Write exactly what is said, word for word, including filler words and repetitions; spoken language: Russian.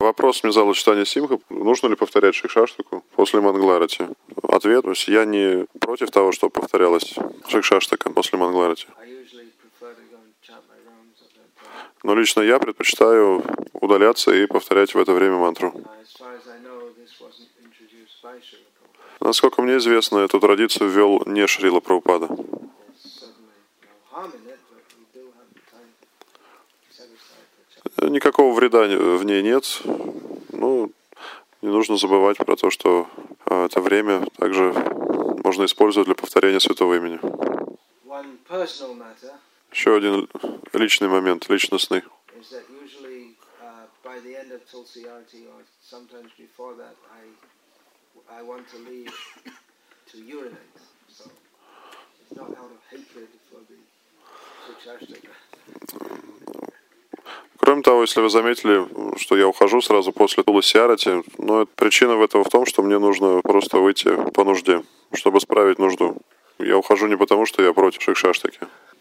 Вопрос мне задал читание Симха. Нужно ли повторять Шикшаштаку после Мангаларати? Ответ, то есть я не против того, чтобы повторялась Шикшаштака после Мангаларати. Но лично я предпочитаю удаляться и повторять в это время мантру. Насколько мне известно, эту традицию ввел не Шрила Прабхупада. Никакого вреда в ней нет. Ну, не нужно забывать про то, что это время также можно использовать для повторения святого имени. Еще один личный момент, личностный. Кроме того, если вы заметили, что я ухожу сразу после Туласи-арати, но причина в этого в том, что мне нужно просто выйти по нужде, чтобы справить нужду. Я ухожу не потому, что я против Шикшаштаки.